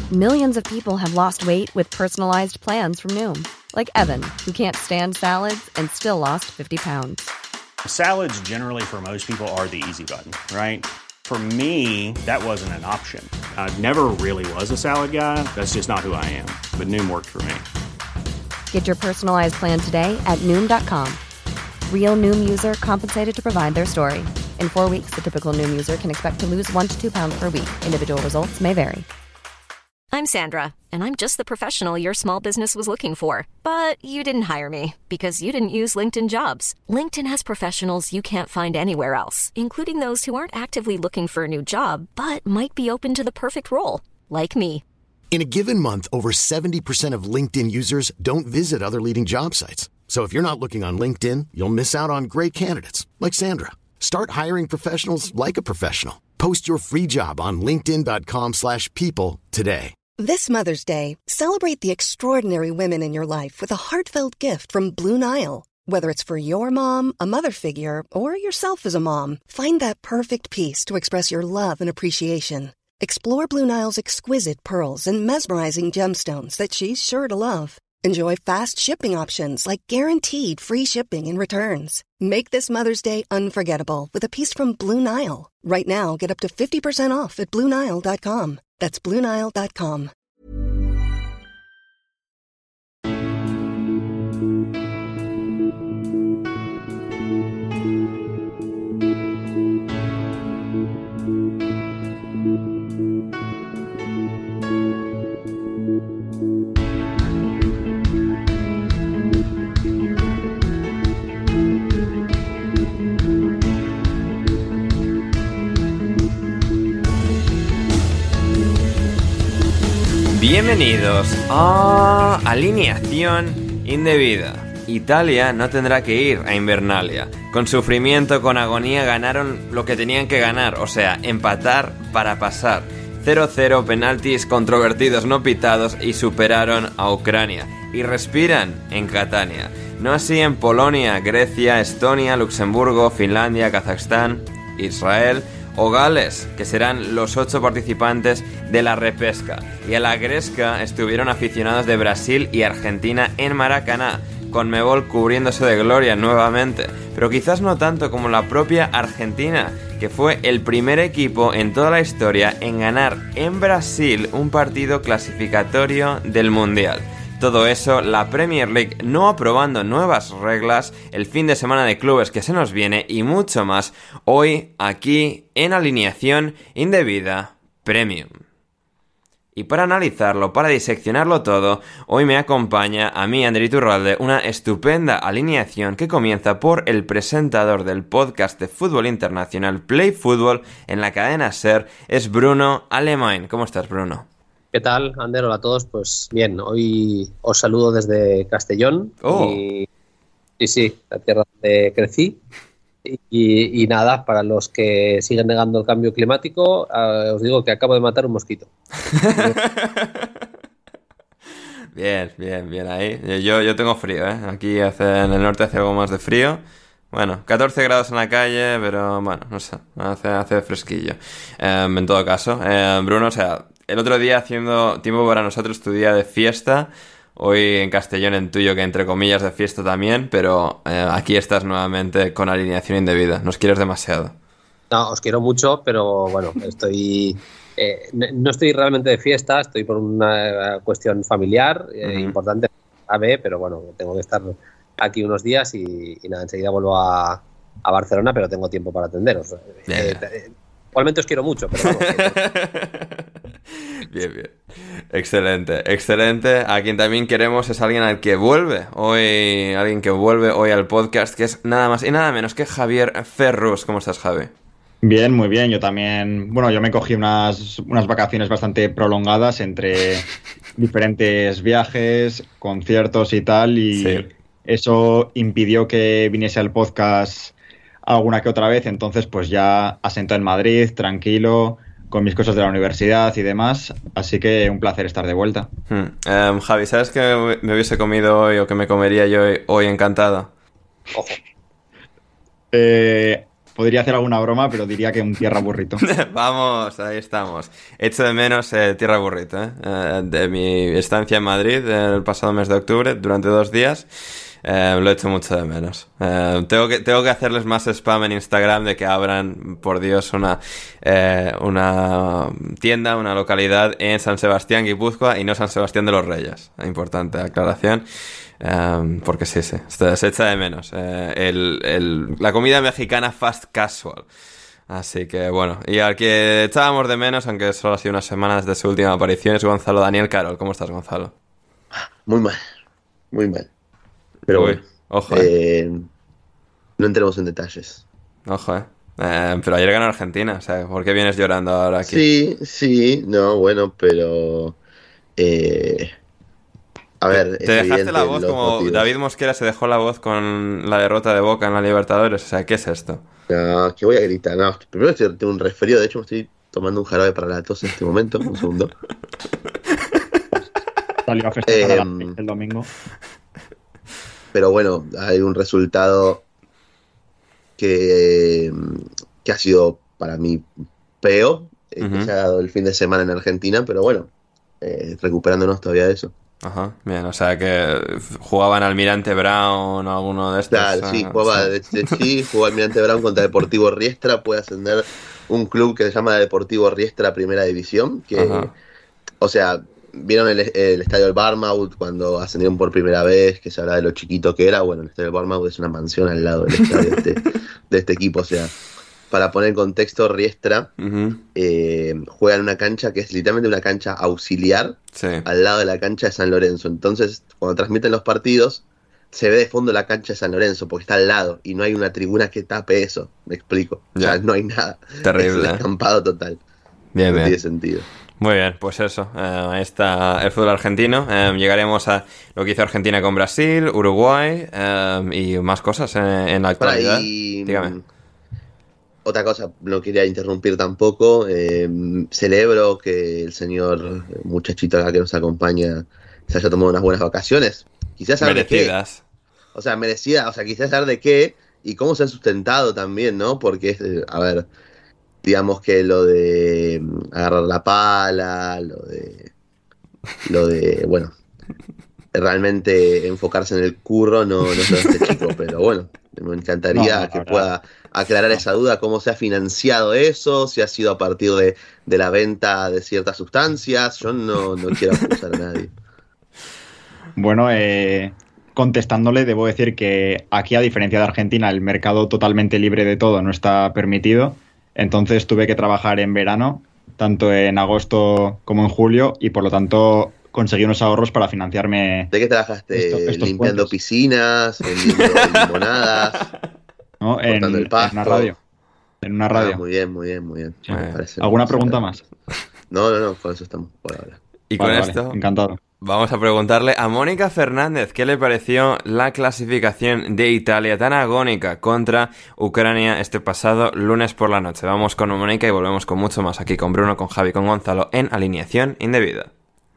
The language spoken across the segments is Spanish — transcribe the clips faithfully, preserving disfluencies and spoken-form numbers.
Millions of people have lost weight with personalized plans from Noom. Like Evan, who can't stand salads and still lost fifty pounds. Salads generally for most people are the easy button, right? For me, that wasn't an option. I never really was a salad guy. That's just not who I am. But Noom worked for me. Get your personalized plan today at Noom dot com. Real Noom user compensated to provide their story. In four weeks, the typical Noom user can expect to lose one to two pounds per week. Individual results may vary. I'm Sandra, and I'm just the professional your small business was looking for. But you didn't hire me because you didn't use LinkedIn Jobs. LinkedIn has professionals you can't find anywhere else, including those who aren't actively looking for a new job, but might be open to the perfect role, like me. In a given month, over seventy percent of LinkedIn users don't visit other leading job sites. So if you're not looking on LinkedIn, you'll miss out on great candidates like Sandra. Start hiring professionals like a professional. Post your free job on linkedin dot com slash people today. This Mother's Day, celebrate the extraordinary women in your life with a heartfelt gift from Blue Nile. Whether it's for your mom, a mother figure, or yourself as a mom, find that perfect piece to express your love and appreciation. Explore Blue Nile's exquisite pearls and mesmerizing gemstones that she's sure to love. Enjoy fast shipping options like guaranteed free shipping and returns. Make this Mother's Day unforgettable with a piece from Blue Nile. Right now, get up to fifty percent off at blue nile dot com. That's blue nile dot com. Bienvenidos a Alineación Indebida. Italia no tendrá que ir a Invernalia. Con sufrimiento, con agonía, ganaron lo que tenían que ganar, o sea, empatar para pasar. cero cero, penaltis controvertidos no pitados y superaron a Ucrania. Y respiran en Catania. No así en Polonia, Grecia, Estonia, Luxemburgo, Finlandia, Kazajstán, Israel o Gales, que serán los ocho participantes de la repesca. Y a la gresca estuvieron aficionados de Brasil y Argentina en Maracaná, Conmebol cubriéndose de gloria nuevamente, pero quizás no tanto como la propia Argentina, que fue el primer equipo en toda la historia en ganar en Brasil un partido clasificatorio del Mundial. Todo eso, la Premier League no aprobando nuevas reglas, el fin de semana de clubes que se nos viene y mucho más hoy aquí en Alineación Indebida Premium. Y para analizarlo, para diseccionarlo todo, hoy me acompaña a mí, Ander Iturralde, una estupenda alineación que comienza por el presentador del podcast de fútbol internacional Play Fútbol en la cadena SER, es Bruno Alemany. ¿Cómo estás, Bruno? ¿Qué tal, Ander? Hola a todos. Pues bien, hoy os saludo desde Castellón. Oh. Y, y sí, la tierra donde crecí. Y, y nada, para los que siguen negando el cambio climático, uh, os digo que acabo de matar un mosquito. Bien, bien, bien ahí. Yo, yo tengo frío, ¿eh? Aquí hace, en el norte hace algo más de frío. Bueno, catorce grados en la calle, pero bueno, no sé, hace, hace fresquillo. Eh, en todo caso, eh, Bruno, o sea, el otro día haciendo tiempo para nosotros, tu día de fiesta. Hoy en Castellón, en tuyo, que entre comillas de fiesta también, pero eh, aquí estás nuevamente con alineación indebida. Nos quieres demasiado. No, os quiero mucho, pero bueno, estoy eh, no estoy realmente de fiesta, estoy por una cuestión familiar eh, uh-huh. importante, a ver, pero bueno, tengo que estar aquí unos días y, y nada, enseguida vuelvo a, a Barcelona, pero tengo tiempo para atenderos. Yeah. Eh, eh, igualmente os quiero mucho, pero vamos. Bien, bien. Excelente, excelente. A quien también queremos es alguien al que vuelve hoy, alguien que vuelve hoy al podcast, que es nada más y nada menos que Javier Ferrus. ¿Cómo estás, Javi? Bien, muy bien. Yo también, bueno, yo me cogí unas, unas vacaciones bastante prolongadas entre diferentes viajes, conciertos y tal, y sí. Eso impidió que viniese al podcast alguna que otra vez, entonces pues ya asentado en Madrid, tranquilo, con mis cosas de la universidad y demás, así que un placer estar de vuelta. Hmm. Um, Javi, ¿sabes qué me hubiese comido hoy o qué me comería yo hoy, hoy encantado? Ojo. Eh, podría hacer alguna broma, pero diría que un tierra burrito. Vamos, ahí estamos. Echo de menos eh, tierra burrito, ¿eh? Eh, de mi estancia en Madrid el pasado mes de octubre, durante dos días. Eh, lo he hecho mucho de menos. Eh, tengo que tengo que hacerles más spam en Instagram de que abran, por Dios, una eh, una tienda, una localidad en San Sebastián, Guipúzcoa, y no San Sebastián de los Reyes. Importante aclaración. Eh, porque sí, sí, se echa de menos. Eh, el, el, la comida mexicana fast casual. Así que bueno, y al que echábamos de menos, aunque solo ha sido unas semanas de su última aparición, es Gonzalo Daniel Carol. ¿Cómo estás, Gonzalo? Muy mal, muy mal. Pero Uy, bueno, ojo, eh. Eh, no entremos en detalles. Ojo, eh. eh. Pero ayer ganó Argentina, o sea, ¿por qué vienes llorando ahora aquí? Sí, sí, no, bueno, pero... Eh, a ver, te, te dejaste la voz como motivos. David Mosquera se dejó la voz con la derrota de Boca en la Libertadores, o sea, ¿qué es esto? No, que voy a gritar, no, primero tengo un resfrío, de hecho me estoy tomando un jarabe para la tos en este momento, un segundo. Salió a festejar eh, el domingo. Pero bueno, hay un resultado que, que ha sido para mí peor, uh-huh. que se ha dado el fin de semana en Argentina, pero bueno, eh, recuperándonos todavía de eso. Ajá, bien, o sea que jugaban Almirante Brown o alguno de estos. Claro, sí, jugaba, de, de, sí, jugó Almirante Brown contra Deportivo Riestra, puede ascender un club que se llama Deportivo Riestra Primera División, que, uh-huh. o sea... ¿Vieron el, el estadio del Barmouth cuando ascendieron por primera vez? Que se habla de lo chiquito que era. Bueno, el estadio del Barmouth es una mansión al lado del estadio de, este, de este equipo. O sea, para poner en contexto, Riestra uh-huh. eh, juega en una cancha que es literalmente una cancha auxiliar sí. al lado de la cancha de San Lorenzo. Entonces, cuando transmiten los partidos, se ve de fondo la cancha de San Lorenzo porque está al lado y no hay una tribuna que tape eso. Me explico. O sea, no hay nada. Terrible. Es un descampado total. Bien, no bien. tiene sentido. Muy bien, pues eso, eh, ahí está el fútbol argentino. Eh, llegaremos a lo que hizo Argentina con Brasil, Uruguay eh, y más cosas en, en la actualidad. Y, Dígame. Otra cosa, no quería interrumpir tampoco. Eh, celebro que el señor muchachito acá que nos acompaña se haya tomado unas buenas vacaciones. Quizás saber merecidas. De qué. O sea, merecidas. O sea, quizás saber de qué y cómo se han sustentado también, ¿no? Porque, a ver... Digamos que lo de agarrar la pala, lo de, lo de, bueno, realmente enfocarse en el curro no, no es lo de este chico, pero bueno, me encantaría no, no, que no, pueda aclarar no. esa duda, cómo se ha financiado eso, si ha sido a partir de, de la venta de ciertas sustancias. Yo no, no quiero acusar a nadie. Bueno, eh, contestándole, debo decir que aquí, a diferencia de Argentina, el mercado totalmente libre de todo no está permitido. Entonces tuve que trabajar en verano, tanto en agosto como en julio, y por lo tanto conseguí unos ahorros para financiarme. ¿De qué trabajaste? Estos, estos ¿Limpiando puentes. Piscinas? ¿Vendiendo limonadas? No, en, el pasto. en una radio. En una radio. Ah, muy bien, muy bien, muy bien. Sí. ¿Alguna pregunta más? No, no, no, con eso estamos por ahora. Y con vale, esto, vale. Encantado. Vamos a preguntarle a Mónica Fernández qué le pareció la clasificación de Italia tan agónica contra Ucrania este pasado lunes por la noche. Vamos con Mónica y volvemos con mucho más aquí con Bruno, con Javi, con Gonzalo en Alineación Indebida.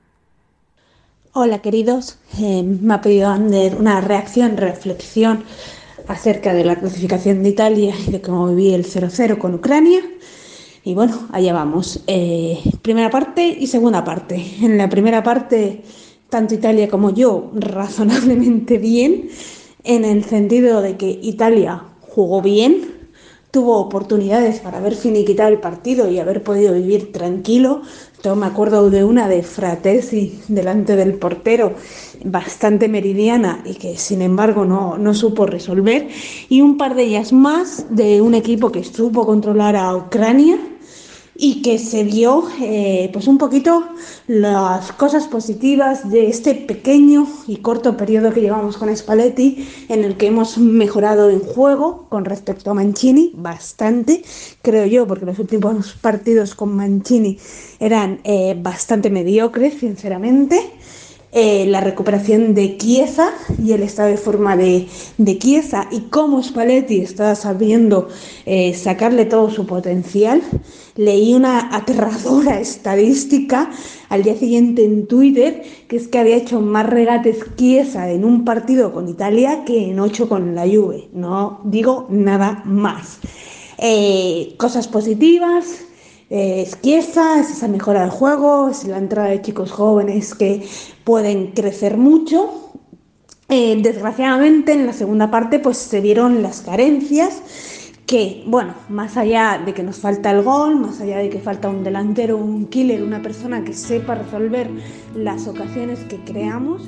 Hola queridos, eh, me ha pedido Ander una reacción, reflexión acerca de la clasificación de Italia y de cómo viví el cero cero con Ucrania. Y bueno, allá vamos. Eh, primera parte y segunda parte. En la primera parte, tanto Italia como yo, razonablemente bien, en el sentido de que Italia jugó bien, tuvo oportunidades para haber finiquitado el partido y haber podido vivir tranquilo. Yo me acuerdo de una de Fratesi delante del portero, bastante meridiana y que sin embargo no, no supo resolver. Y un par de ellas más de un equipo que supo controlar a Ucrania y que se vio eh, pues un poquito las cosas positivas de este pequeño y corto periodo que llevamos con Spalletti, en el que hemos mejorado en juego con respecto a Mancini bastante, creo yo, porque los últimos partidos con Mancini eran eh, bastante mediocres, sinceramente. Eh, la recuperación de Chiesa y el estado de forma de, de Chiesa y cómo Spalletti está sabiendo eh, sacarle todo su potencial. Leí una aterradora estadística al día siguiente en Twitter, que es que había hecho más regates Chiesa en un partido con Italia que en ocho con la Juve. No digo nada más. Eh, cosas positivas, eh, es Chiesa, es esa mejora del juego, es la entrada de chicos jóvenes que pueden crecer mucho. Eh, desgraciadamente en la segunda parte pues se vieron las carencias que, bueno, más allá de que nos falta el gol, más allá de que falta un delantero, un killer, una persona que sepa resolver las ocasiones que creamos.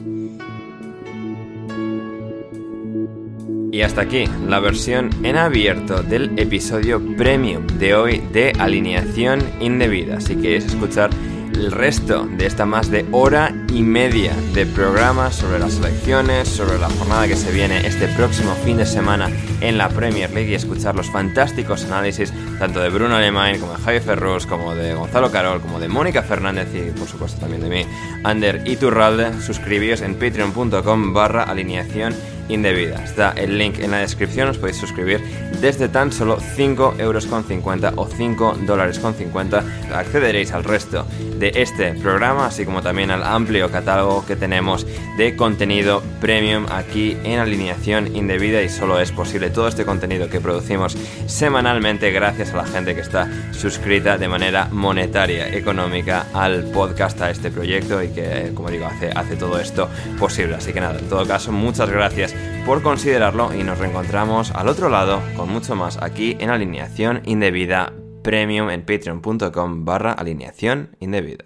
Y hasta aquí la versión en abierto del episodio premium de hoy de Alineación Indebida. Si queréis escuchar el resto de esta más de hora y media de programa sobre las selecciones, sobre la jornada que se viene este próximo fin de semana en la Premier League y escuchar los fantásticos análisis tanto de Bruno Alemán como de Javi Ferrus, como de Gonzalo Carol, como de Mónica Fernández y por supuesto también de mí, Ander Iturralde, suscribíos en patreon.com barra alineación indebida. Está el link en la descripción, os podéis suscribir desde tan solo cinco euros con cincuenta o cinco dólares con cincuenta. Accederéis al resto de este programa, así como también al amplio catálogo que tenemos de contenido premium aquí en Alineación Indebida, y solo es posible todo este contenido que producimos semanalmente gracias a la gente que está suscrita de manera monetaria, económica al podcast, a este proyecto, y que, como digo, hace, hace todo esto posible. Así que nada, en todo caso, muchas gracias por considerarlo y nos reencontramos al otro lado con mucho más aquí en Alineación Indebida Premium en patreon.com barra alineación indebida.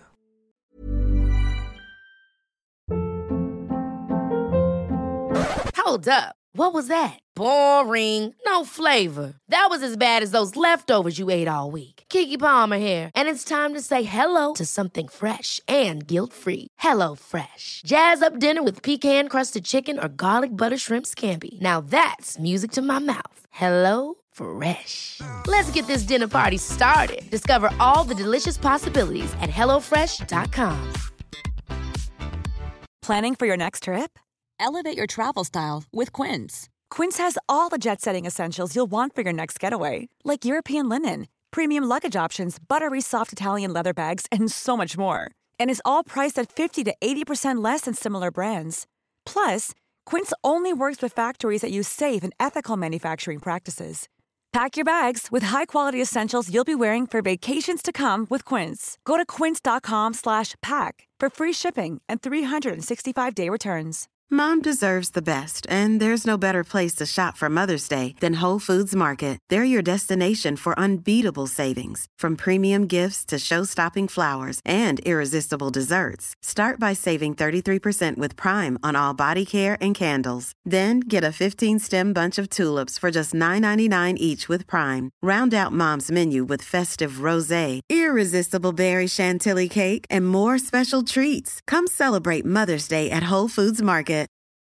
Hold up. What was that? Boring. No flavor. That was as bad as those leftovers you ate all week. Keke Palmer here, and it's time to say hello to something fresh and guilt-free. Hello Fresh. Jazz up dinner with pecan-crusted chicken or garlic butter shrimp scampi. Now that's music to my mouth. Hello Fresh. Let's get this dinner party started. Discover all the delicious possibilities at hello fresh dot com. Planning for your next trip? Elevate your travel style with Quince. Quince has all the jet-setting essentials you'll want for your next getaway, like European linen, premium luggage options, buttery soft Italian leather bags, and so much more. And is all priced at fifty to eighty percent less than similar brands. Plus, Quince only works with factories that use safe and ethical manufacturing practices. Pack your bags with high-quality essentials you'll be wearing for vacations to come with Quince. Go to quince.com slash pack for free shipping and three sixty-five day returns. Mom deserves the best, and there's no better place to shop for Mother's Day than Whole Foods Market. They're your destination for unbeatable savings, from premium gifts to show-stopping flowers and irresistible desserts. Start by saving thirty-three percent with Prime on all body care and candles. Then get a fifteen-stem bunch of tulips for just nine ninety-nine each with Prime. Round out Mom's menu with festive rosé, irresistible berry chantilly cake, and more special treats. Come celebrate Mother's Day at Whole Foods Market.